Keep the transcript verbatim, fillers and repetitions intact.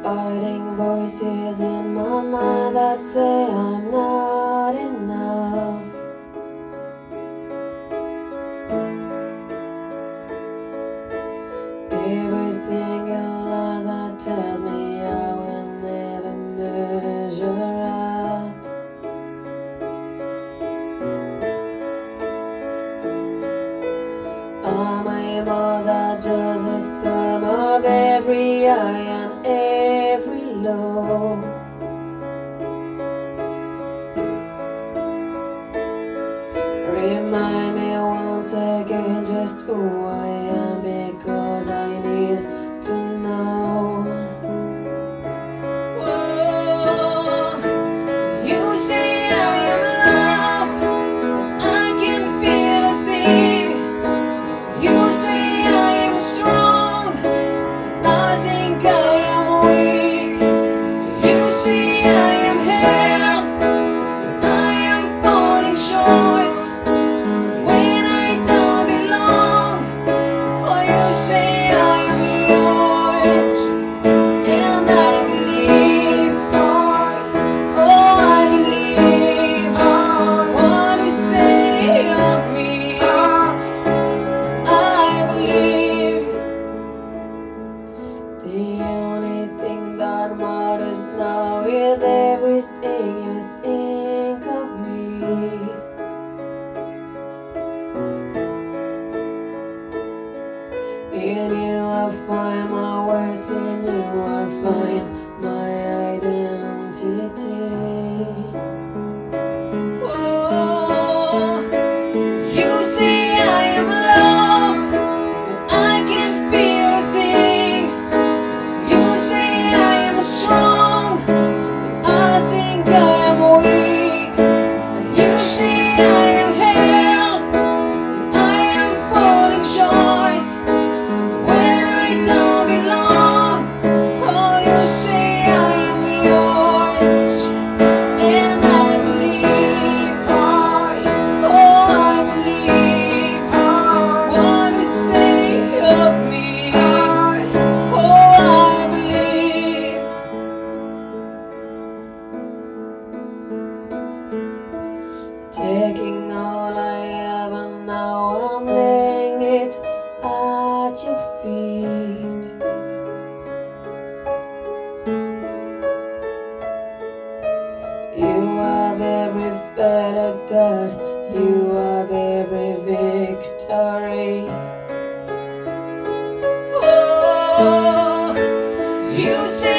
Fighting voices in my mind that say I'm not enough. Everything in life that tells me I will never measure up. Am I more than just a sum of every high and every low? Remind me once again just who I am, because I need to know. Whoa, you say I am loved, but I can feel a thing. You say I am strong, but I think I am weak. You say I am held, but I am falling short. When I don't belong, oh, you say I am yours, and I believe, oh, I believe what you say of me. I believe the only thing that matters now is everything you think of me. In you I find my worth, in you I find my identity. Oh, you say I am loved, but I can't feel a thing. You say I am strong, but I think I am weak. And you say I am held, and I am falling short. When I don't belong, oh, you say I am yours, and I believe, oh, I believe what you say of me. Oh, I believe. Taking all I have and now I'm laying it at your feet. You have every feather, God. You have every victory. Oh, you say